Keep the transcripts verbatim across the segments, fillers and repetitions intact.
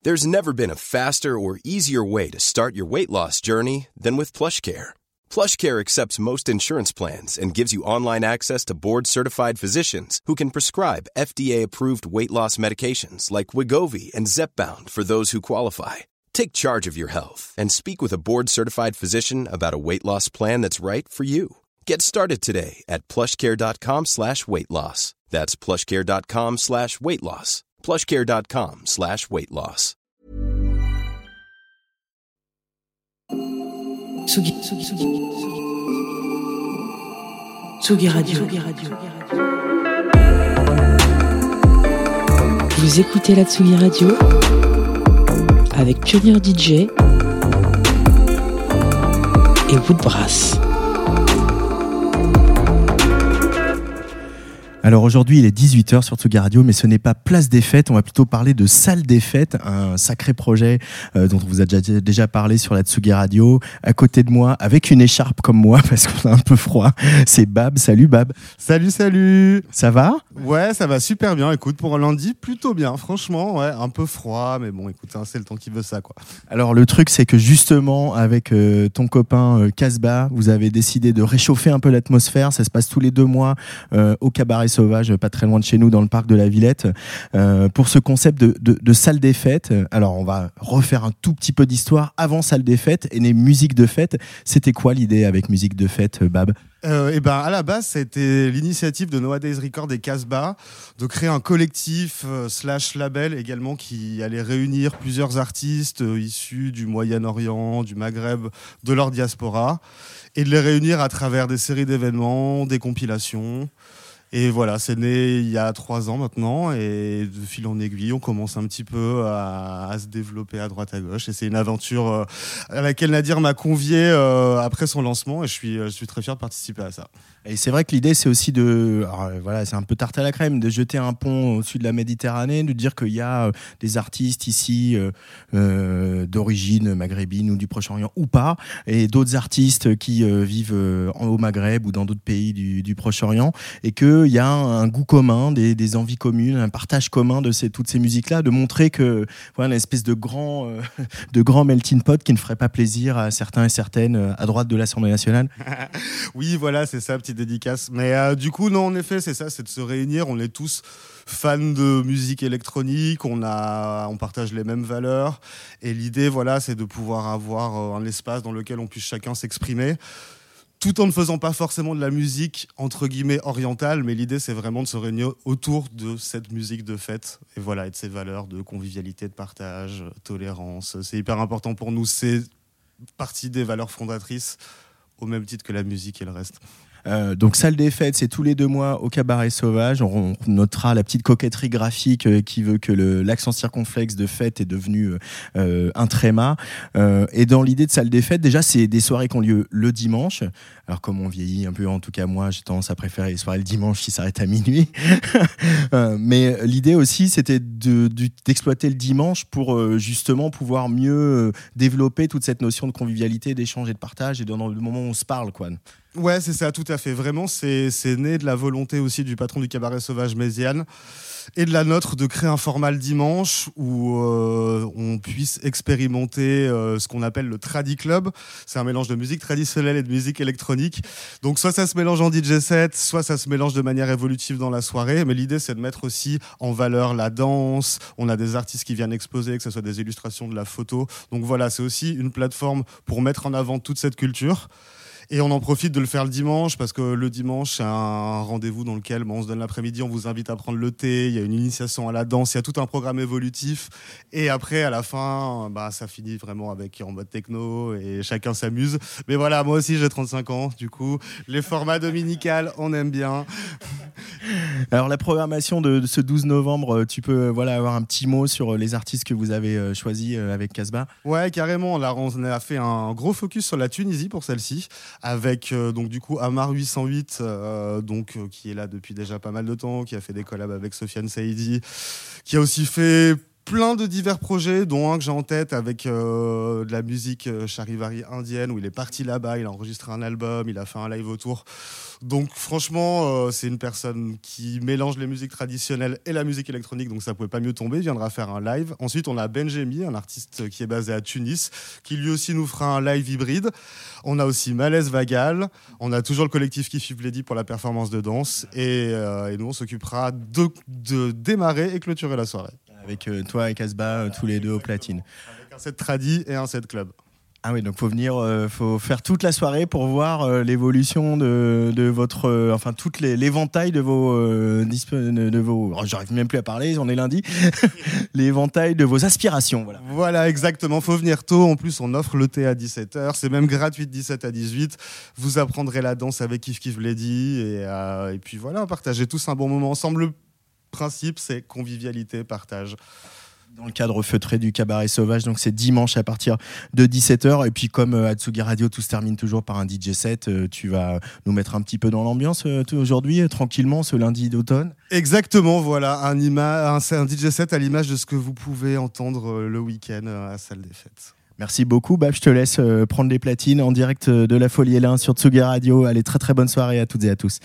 There's never been a faster or easier way to start your weight loss journey than with PlushCare. PlushCare accepts most insurance plans and gives you online access to board-certified physicians who can prescribe F D A-approved weight loss medications like Wegovy and Zepbound for those who qualify. Take charge of your health and speak with a board-certified physician about a weight loss plan that's right for you. Get started today at plushcare.com slash weight loss. That's plushcare.com slash weight loss. plushcare.com slash weight loss. Tsugi, Tsugi, Tsugi, Tsugi Radio. Tsugi Radio. Vous écoutez la Tsugi Radio avec Pionnier D J et Woodbrass. Alors aujourd'hui, il est dix-huit heures sur Tsugi Radio, mais ce n'est pas Place des Fêtes, on va plutôt parler de Salle des Fêtes, un sacré projet euh, dont on vous a déjà, déjà parlé sur la Tsugi Radio. À côté de moi, avec une écharpe comme moi, parce qu'on a un peu froid, c'est Bab. Salut Bab. Salut, salut. Ça va ? Ouais, ça va super bien. Écoute, pour un lundi, plutôt bien. Franchement, ouais, un peu froid, mais bon, écoute, hein, c'est le temps qui veut ça, quoi. Alors le truc, c'est que justement, avec euh, ton copain euh, Casbah, vous avez décidé de réchauffer un peu l'atmosphère. Ça se passe tous les deux mois euh, au Cabaret Sauvage, pas très loin de chez nous, dans le parc de la Villette, euh, pour ce concept de, de, de salle des fêtes. Alors, on va refaire un tout petit peu d'histoire. Avant salle des fêtes et les musiques de fête, c'était quoi l'idée avec musique de fête, Bab ? Euh, et ben à la base, ça a été l'initiative de Nowadays Records et Casbah de créer un collectif euh, slash label également qui allait réunir plusieurs artistes euh, issus du Moyen-Orient, du Maghreb, de leur diaspora, et de les réunir à travers des séries d'événements, des compilations. Et voilà, c'est né il y a trois ans maintenant, et de fil en aiguille, on commence un petit peu à, à se développer à droite à gauche. Et c'est une aventure euh, à laquelle Nadir m'a convié euh, après son lancement, et je suis, je suis très fier de participer à ça. Et c'est vrai que l'idée, c'est aussi de, alors, voilà, c'est un peu tarte à la crème, de jeter un pont au-dessus de la Méditerranée, de dire qu'il y a euh, des artistes ici euh, euh, d'origine maghrébine ou du Proche-Orient ou pas, et d'autres artistes qui euh, vivent euh, au Maghreb ou dans d'autres pays du, du Proche-Orient, et qu'il y a un, un goût commun, des, des envies communes, un partage commun de ces, toutes ces musiques-là, de montrer que voilà, une espèce de grand, euh, de grand melting pot qui ne ferait pas plaisir à certains et certaines à droite de l'Assemblée nationale. Oui, voilà, c'est ça, petite dédicace. Mais euh, du coup, non, en effet, c'est ça, c'est de se réunir. On est tous fans de musique électronique, on, a, on partage les mêmes valeurs. Et l'idée, voilà, c'est de pouvoir avoir euh, un espace dans lequel on puisse chacun s'exprimer, tout en ne faisant pas forcément de la musique, entre guillemets, orientale. Mais l'idée, c'est vraiment de se réunir autour de cette musique de fête. Et voilà, et de ces valeurs de convivialité, de partage, tolérance. C'est hyper important pour nous. C'est partie des valeurs fondatrices, au même titre que la musique et le reste. Euh, donc salle des fêtes, c'est tous les deux mois au Cabaret Sauvage. On notera la petite coquetterie graphique euh, qui veut que le, l'accent circonflexe de fête est devenu euh, un tréma. Euh, et dans l'idée de salle des fêtes, déjà c'est des soirées qui ont lieu le dimanche. Alors comme on vieillit un peu, en tout cas moi j'ai tendance à préférer les soirées le dimanche qui s'arrêtent à minuit. euh, mais l'idée aussi c'était de, de, d'exploiter le dimanche pour euh, justement pouvoir mieux euh, développer toute cette notion de convivialité, d'échange et de partage, et dans le moment où on se parle, quoi. Ouais, c'est ça, tout à fait. Vraiment, c'est, c'est né de la volonté aussi du patron du Cabaret Sauvage, Méziane, et de la nôtre de créer un format le dimanche où euh, on puisse expérimenter euh, ce qu'on appelle le Tradi Club. C'est un mélange de musique traditionnelle et de musique électronique. Donc soit ça se mélange en D J set, soit ça se mélange de manière évolutive dans la soirée. Mais l'idée, c'est de mettre aussi en valeur la danse. On a des artistes qui viennent exposer, que ce soit des illustrations, de la photo. Donc voilà, c'est aussi une plateforme pour mettre en avant toute cette culture. Et on en profite de le faire le dimanche, parce que le dimanche, c'est un rendez-vous dans lequel bon, on se donne l'après-midi, on vous invite à prendre le thé, il y a une initiation à la danse, il y a tout un programme évolutif. Et après, à la fin, bah, ça finit vraiment avec en mode techno et chacun s'amuse. Mais voilà, moi aussi, j'ai trente-cinq ans, du coup, les formats dominicales, on aime bien. Alors, la programmation de, de ce douze novembre, tu peux voilà, avoir un petit mot sur les artistes que vous avez choisis avec Casbah ? Ouais, carrément. Là, on a fait un gros focus sur la Tunisie pour celle-ci, avec euh, donc du coup Amar huit cent huit, euh, donc euh, qui est là depuis déjà pas mal de temps, qui a fait des collabs avec Sofiane Saïdi, qui a aussi fait plein de divers projets, dont un que j'ai en tête avec euh, de la musique euh, charivari indienne, où il est parti là-bas, il a enregistré un album, il a fait un live autour. Donc franchement, euh, c'est une personne qui mélange les musiques traditionnelles et la musique électronique, donc ça pouvait pas mieux tomber. Il viendra faire un live. Ensuite, on a Benjemi, un artiste qui est basé à Tunis, qui lui aussi nous fera un live hybride. On a aussi Malaise Vagal. On a toujours le collectif Kif Kif Lady pour la performance de danse. Et, euh, et nous, on s'occupera de, de démarrer et clôturer la soirée. Avec euh, toi et Casbah, euh, tous les deux au platine. Avec un set tradi et un set club. Ah oui, donc faut venir, euh, faut faire toute la soirée pour voir euh, l'évolution de, de votre, euh, enfin toute les, l'éventail de vos, euh, disp- de vos, oh, j'arrive même plus à parler, on est lundi, l'éventail de vos aspirations, voilà. Voilà, exactement. Faut venir tôt. En plus, on offre le thé à dix-sept heures. C'est même gratuit de dix-sept à dix-huit. Vous apprendrez la danse avec Kif Kif Lady et, euh, et puis voilà, partagez tous un bon moment ensemble. Le principe, c'est convivialité, partage. Dans le cadre feutré du Cabaret Sauvage, donc c'est dimanche à partir de dix-sept heures. Et puis comme euh, Atsugi Radio, tout se termine toujours par un D J set, euh, tu vas nous mettre un petit peu dans l'ambiance euh, aujourd'hui, euh, tranquillement, ce lundi d'automne. Exactement, voilà, un, ima- un, un D J set à l'image de ce que vous pouvez entendre euh, le week-end euh, à la salle des fêtes. Merci beaucoup, Bab, je te laisse euh, prendre les platines en direct euh, de la Folie L un sur Tsugi Radio. Allez, très très bonne soirée à toutes et à tous.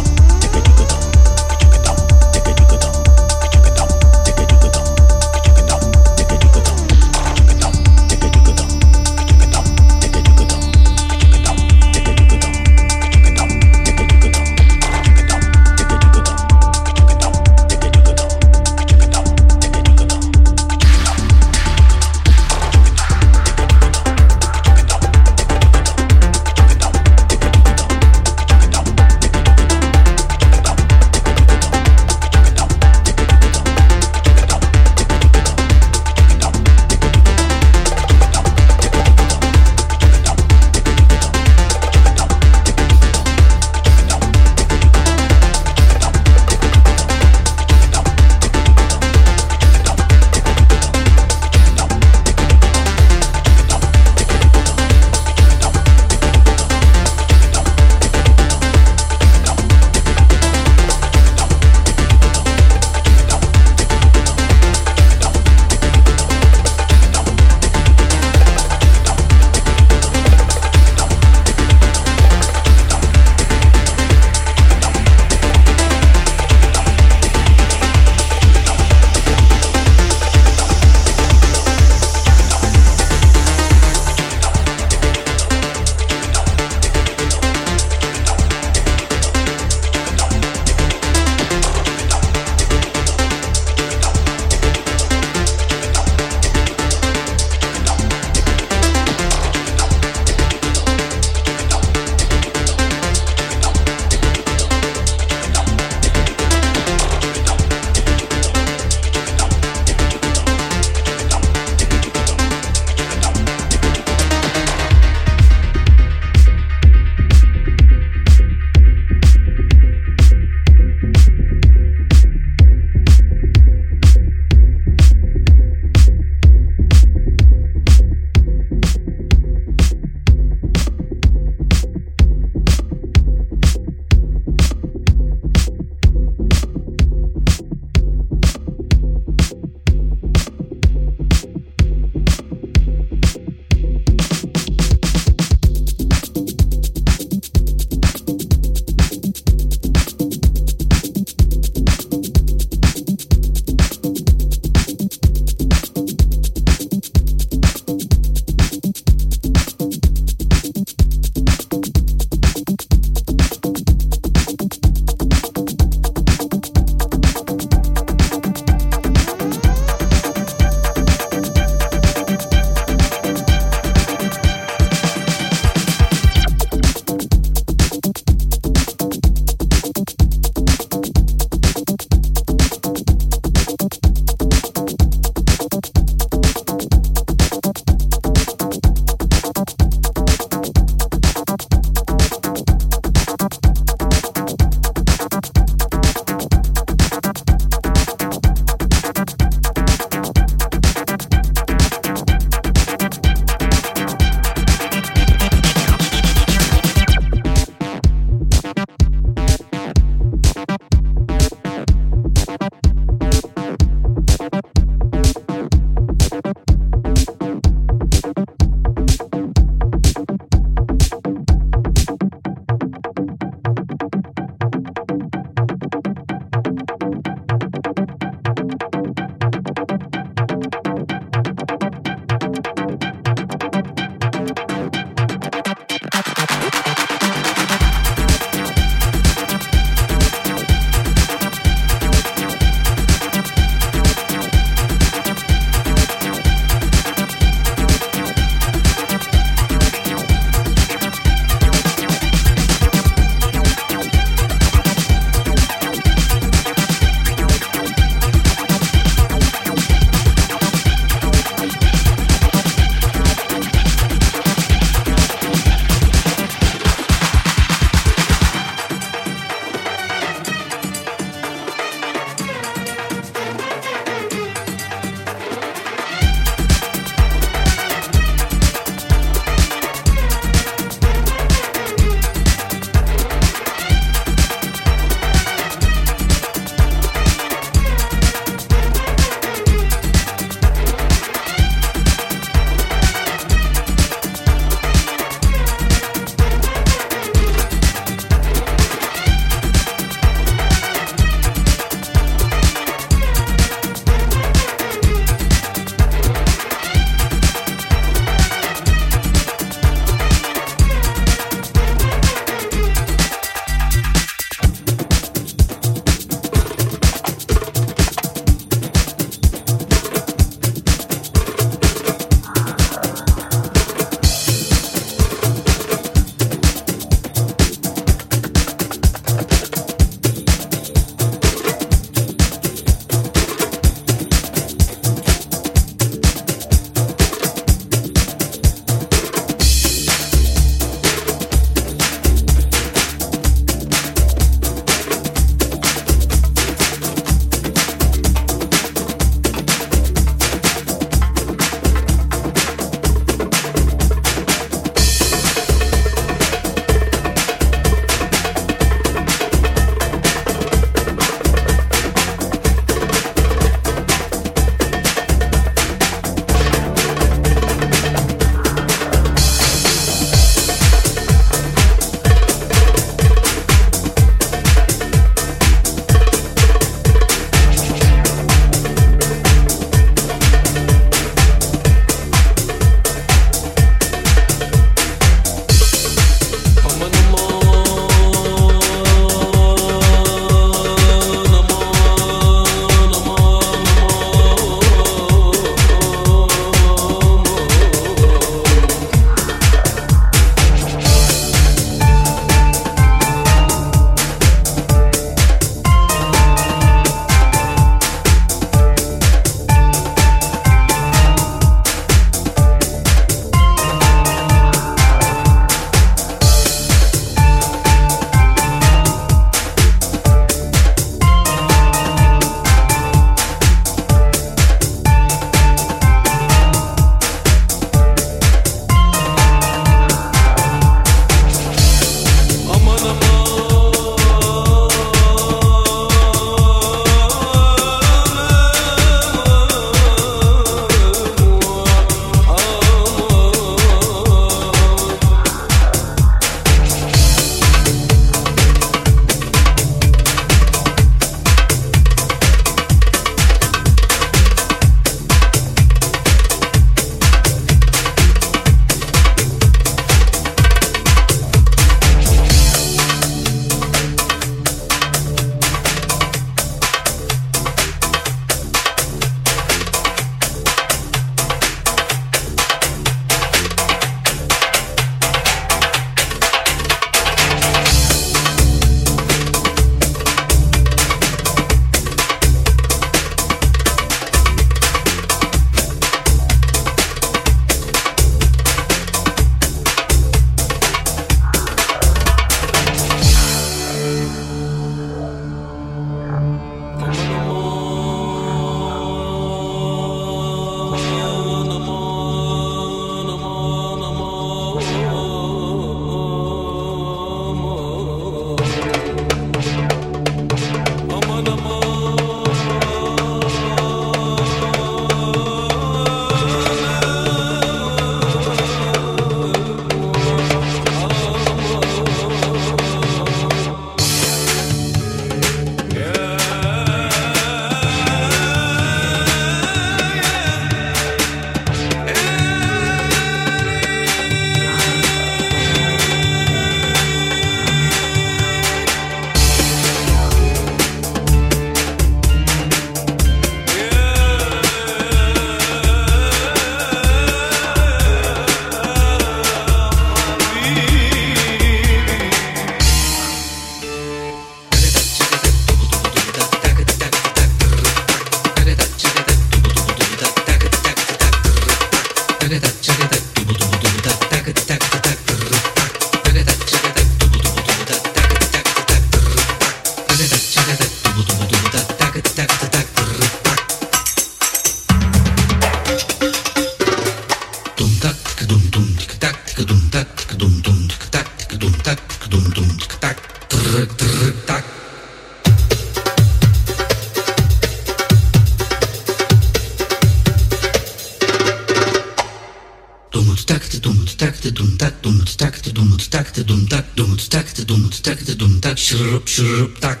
dum tak dum tak dum tak dum tak dum tak dum tak dum tak shrup shrup tak.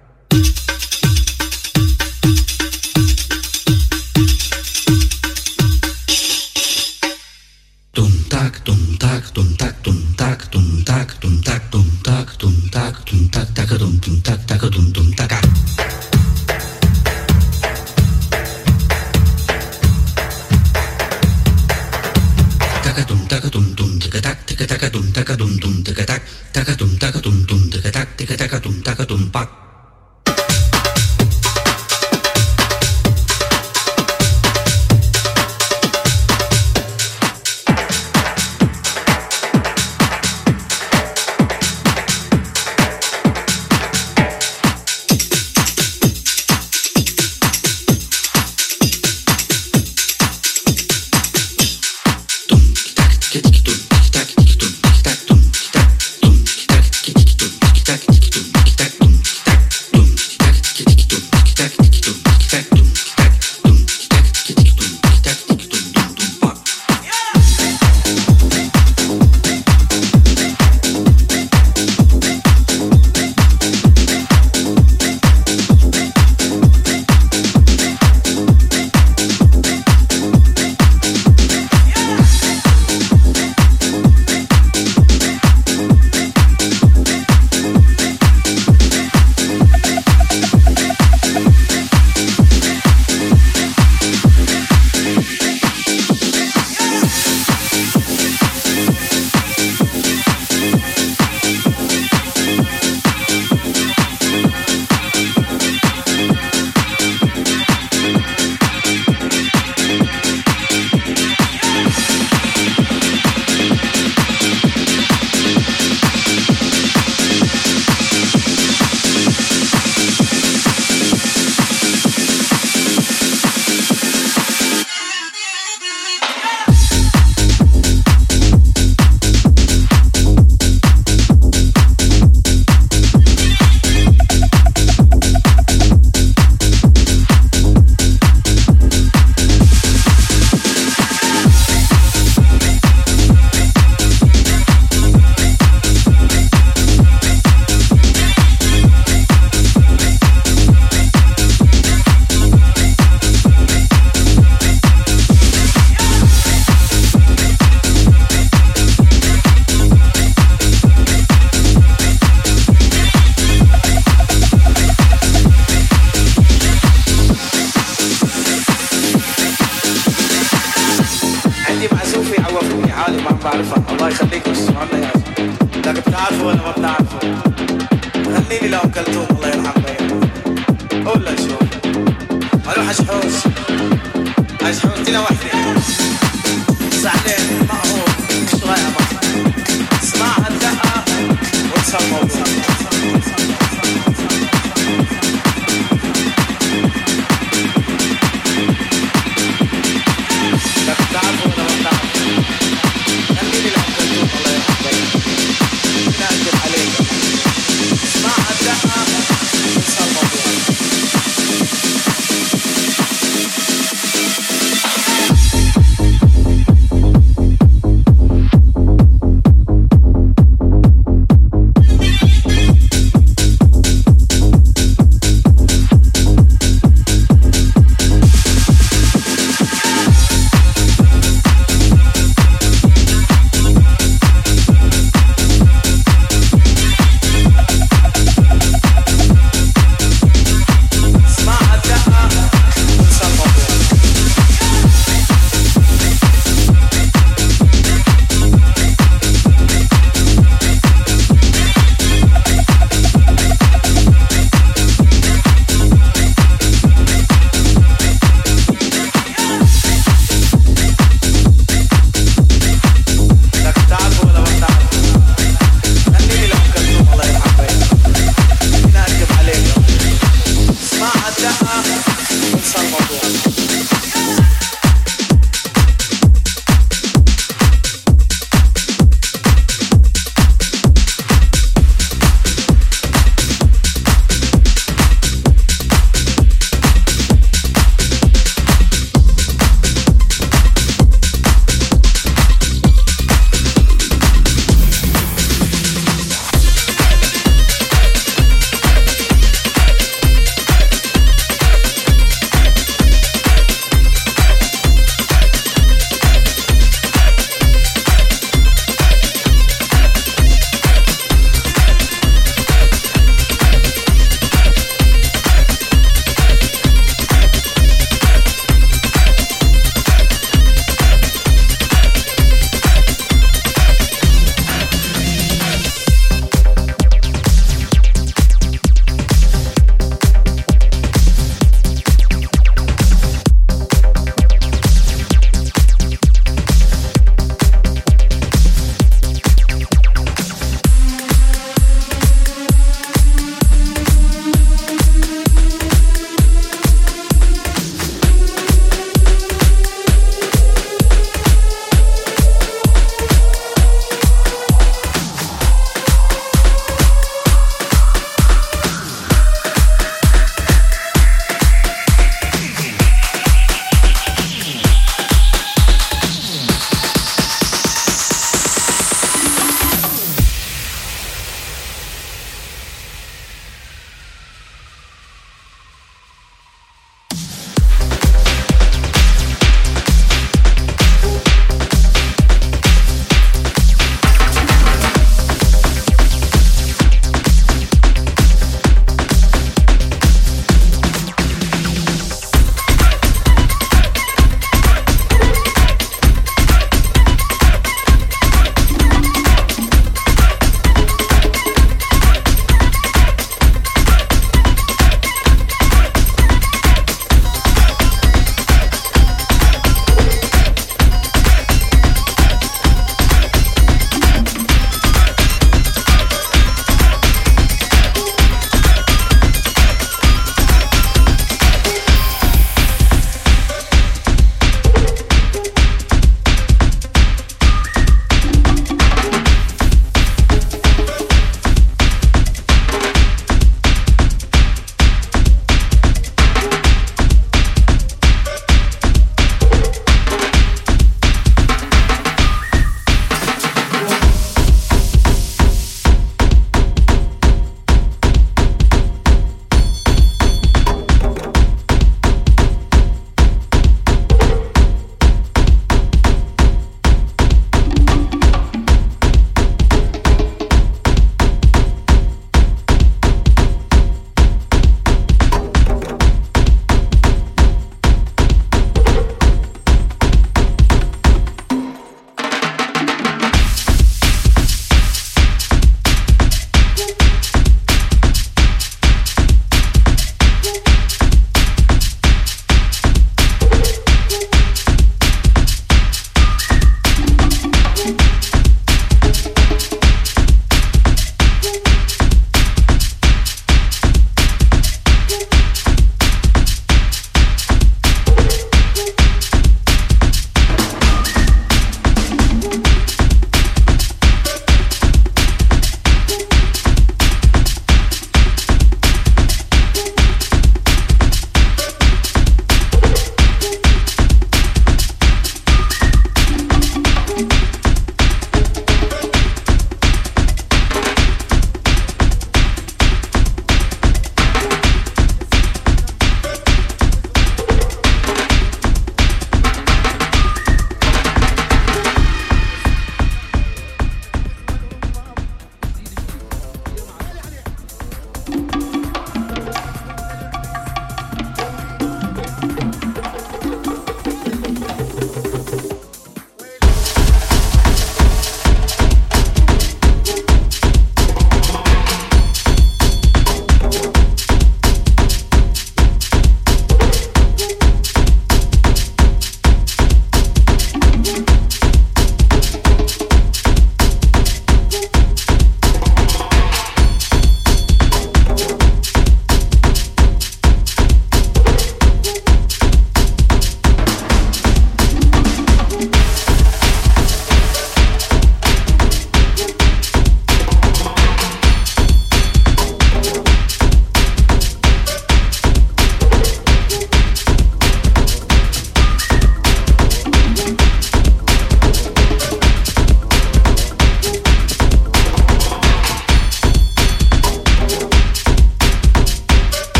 Dum tak dum tak dum tak dum tak dum tak dum tak dum tak dum tak dum tak tak dum dum tak tak dum dum tak. Dum taka dum dum taka tak taka taka dum taka dum dum taka tak taka dum taka dum dum taka tak taka taka dum taka dum pak.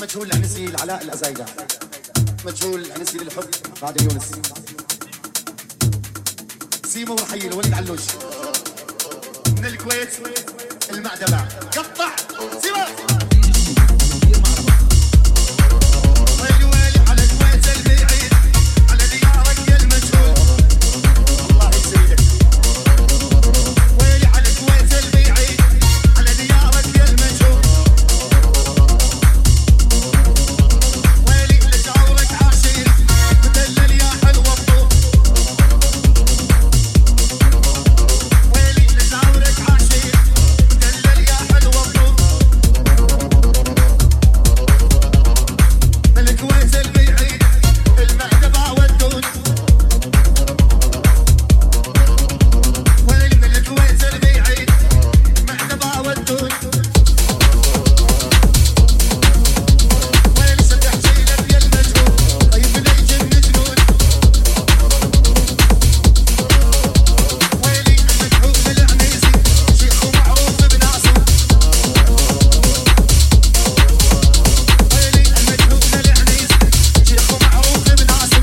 المجهول العنسي العلاء الأزايدة، مجهول العنسي للحب غادة يونس، سيمو ورحيل وليد علوش من الكويت المعدبة، قطع سيمو. ويلي ويلي على الكويت البعيد، على ديارك يا المجهول الله يسعدك. ويلي على الكويت البعيد، على ديارك يا المجهول. ويلي لجورك عاشق مدلل يا حلو الطول. ويلي لجورك عاشق مدلل يا حلو الطول. من الكويت البعيد المعدبة والدود. ويلي من الكويت البعيد المعدبة والدود. ويلي ستحكي لك يا المجهول طيب لي جن جنون. ويلي المجهول العنيسي شيخ معروف بناسه. ويلي المجهول العنيسي شيخ معروف بناسه.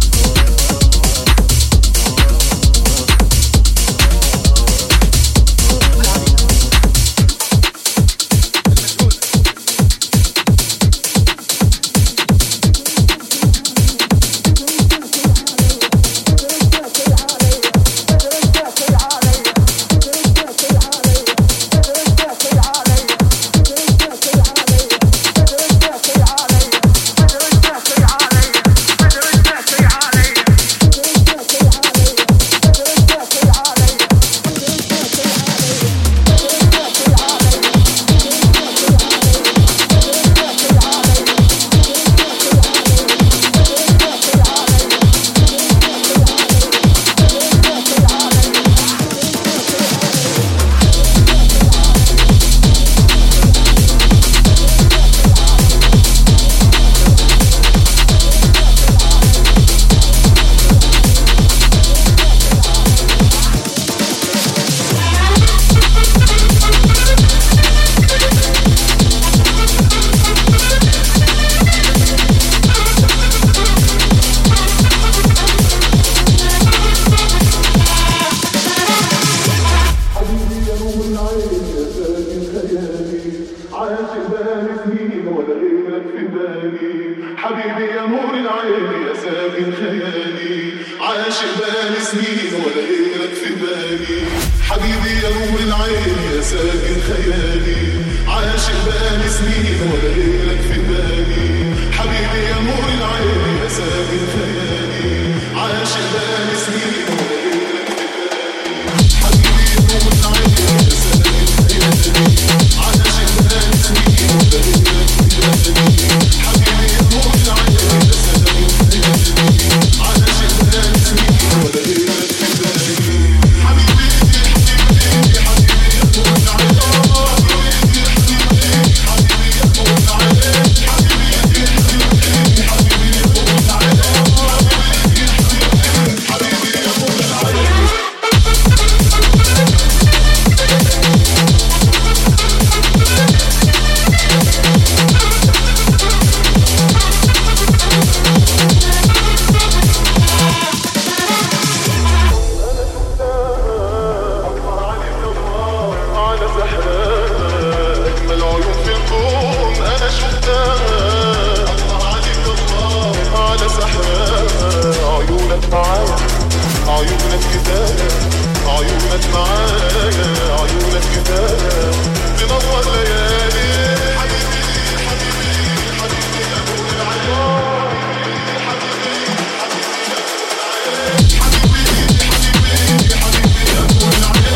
حبيبي يا نور العين يا ساكن خيالي، عاشق بقالي سنين ولا غيرك في بالي. حبيبي يا نور العين يا ساكن خيالي، عاشق بقالي سنين ولا غيرك في بالي. حبيبي يا نور العين يا ساكن خيالي، عاشق بقالي سنين ولا غيرك في بالي. حبيبي يا نور العين يا ساكن خيالي، عاشق بقالي سنين ولا غيرك في بالي. حبيبي يا نور العين يا ساكن خيالي، عاشق بقالي سنين ولا غيرك في بالي. حبيبي حبيبي حبيبي يا نور العين، حبيبي حبيبي حبيبي يا نور العين، حبيبي حبيبي حبيبي يا نور العين، حبيبي حبيبي حبيبي يا نور العين. على سحرها أجمل عيون في الكون أنا شفتها. الله عليك الله على سحرها، عيونك معايا عيونك كفاية، عيونك معايا عيونك كفاية تنور ليالي. حبيبي حبيبي حبيبي يا نور العين، حبيبي حبيبي حبيبي حبيبي يا نور العين،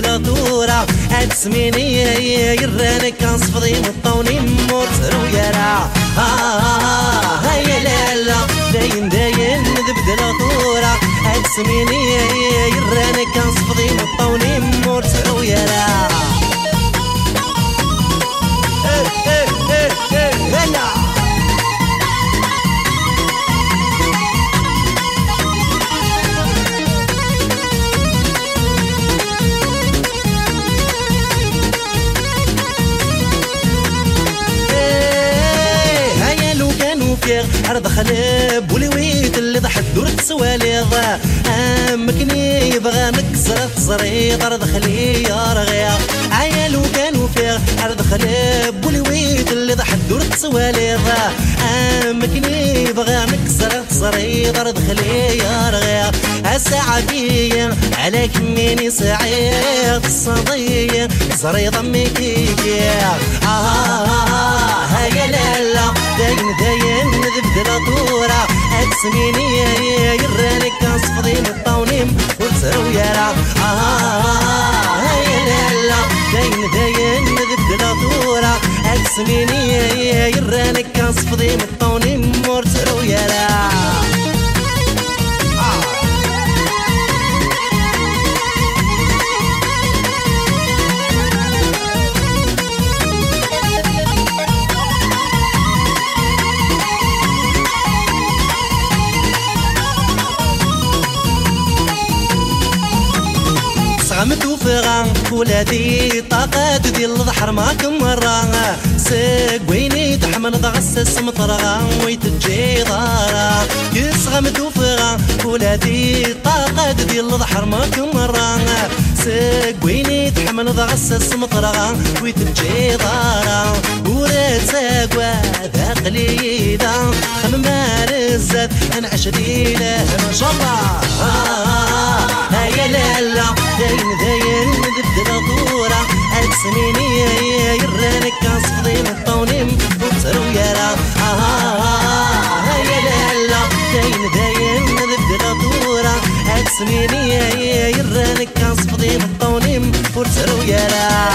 تبدل طورة أتسميني يرانك كنصفضي مطوني مورتر ويرا هيا لالا داين داين تبدل طورة أتسميني يرانك كنصفضي مطوني مورتر ويرا هلا عرض خلاب ولويت اللي ضحت دورت سواليض امكني يبغى نكسر تصريط عرض خلي يا رغيا عيالو كانوا فيه عرض خلاب ولويت اللي ضحت دورت سواليض امكني يبغى نكسر تصريط عرض خلي يا رغيا الساعة فيا على كميني سعيد الصدية زريض ميكيكي آه آه هيا لالا داين داين ذبدل طورة أكسميني يرانك كنصفضي مطونيم ورترو يرا آه هيا لالا داين داين ذبدل طورة أكسميني يرانك كنصفضي مطونيم ورترو يرا غمتو فغان ولادي طاقات ديال الضحر ماكم مرة ساق ويني تحمل ضغسس مطرغا ويتجي ضارا كيس غمتو فغان ولادي طاقات ديال الضحر ماكم مرة ساق ويني تحمل ضغسس مطرغا ويتجي ضارا وراد ساقوا ذا قليدا خمم مارزات انعش ديله ان شاء الله هيا لالا داين داين تبدل طورة أكسميني يرانك كنصفضي مطونيم وبترو يرا هيا لالا داين داين تبدل طورة أكسميني يرانك كنصفضي مطونيم وبترو يرا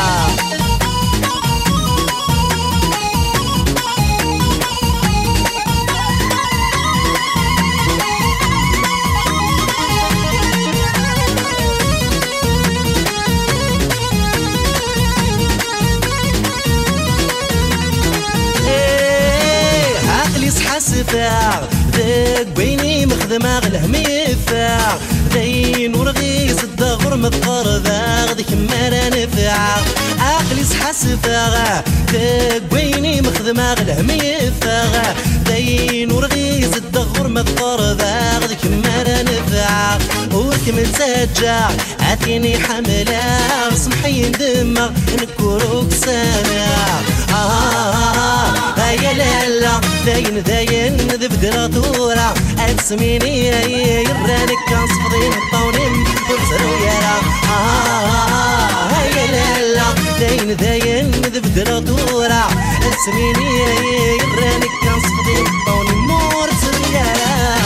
سفاع ذاك بيني مخدمة غلهم يفاع داين ورغيس الدغر مذكر ذاك ذيك مرة نفاع عقلي صحى سفاع ذاك بيني مخدمة غلهم يفاع داين ورغيس الدغر مذكر ذاك ذيك مرة نفاع وركم سجع عاتيني حملة سمحي ندمغ نكروك سامع آه هيا لالا داين داين ذبدل طورة أتسميني يرانك كنصفضي مطونيم ورترو يرا آه هيا لالا داين داين ذبدل طورة أتسميني يرانك كنصفضي مطونيم ورترو يرا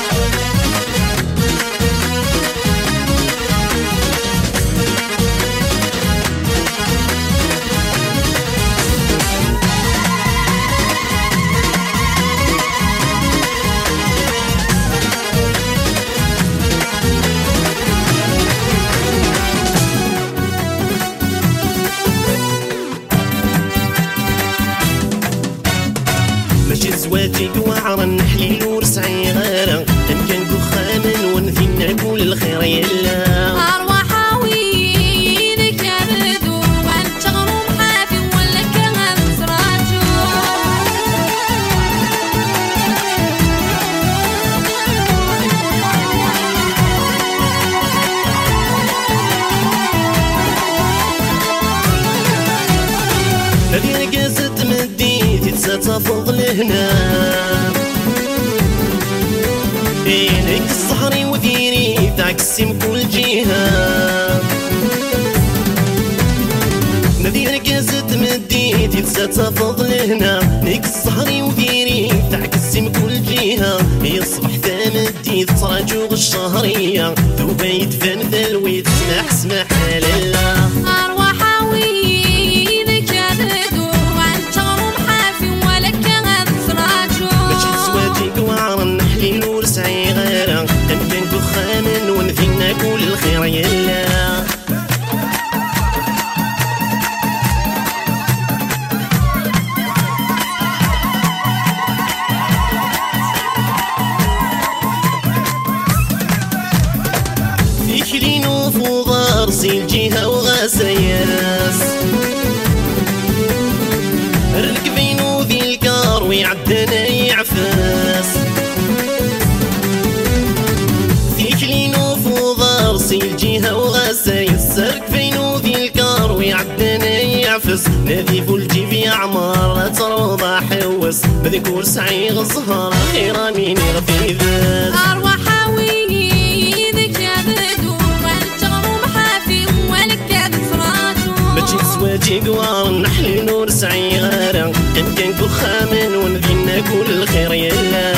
زواجي وعر النحلي ورسعي غيره ان كان كخامن ونثي نعقول الخير يلا ارواح وينك يردو وانت غروم حافي ولا كان زراجو هذه رقازة مدي تتسافض لهنا عينك الصحري وديري تعكسي من كل جهة نذير رقازة مدي تتسافض لهنا نيك الصحري وديري تعكسي من كل جهة يصبح ثامدي تراجوغ الشهرية ذوبا يدفن ذلوي تسمح سمح لالا يعفس فيك لينو فوضار سيل جهة وغسايل السرك فينو ذي الكار ويعدنا يعفس نادي فولجي في عمار لا تروضى حوس بذكور سعي غزهر خيرا مين يغفي ذات أرواح حاوي ذك يا بدو والجغر محافي ولك يا دفراتو ماشي سواجي قوار نحلي نور سعي غارة كان كان كخامن ونذينا كل خير يلا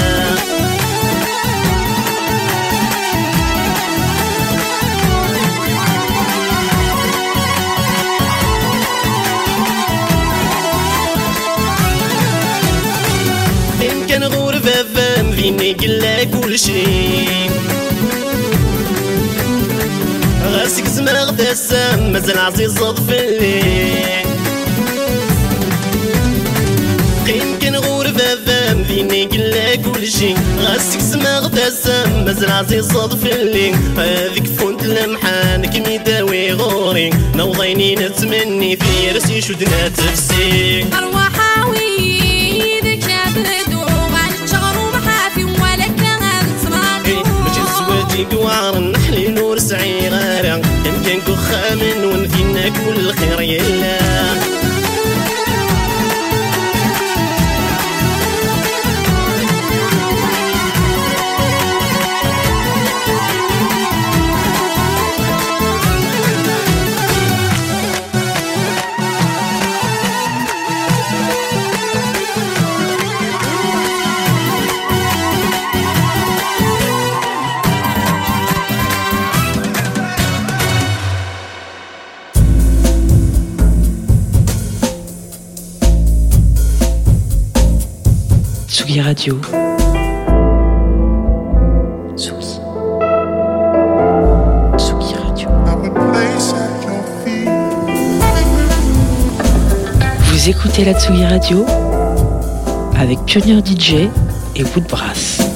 كان غربة فام فيني قلا كل شي غاسك زمرغ تسام مازال عزيز صدف الليل قيم كان غربة فام فيني قلا كل شي غاسك زمرغ تسام مازال عزيز صدف الليل هذيك فونت لمحانك ميداوي غوري نوضيني نتمني في راسي شدنا تفسي أرواح حاوي ذك يا بدو قوار نحلي نور سعي غارة يمكن كخامن ونفينا كل خير يلا Tsugi Radio. Tsugi. Tsugi Radio. Vous écoutez la Tsugi Radio avec Pionnier D J et Woodbrass.